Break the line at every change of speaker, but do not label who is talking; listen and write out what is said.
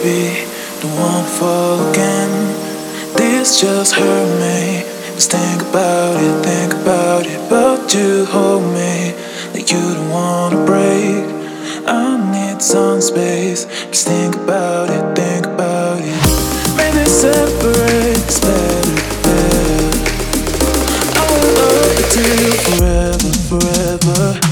be the one to fall again. This just hurt me. Just think about it. But you hold me like you don't wanna break. I need some space. Just think about it. Maybe separate is better. I will love you till forever.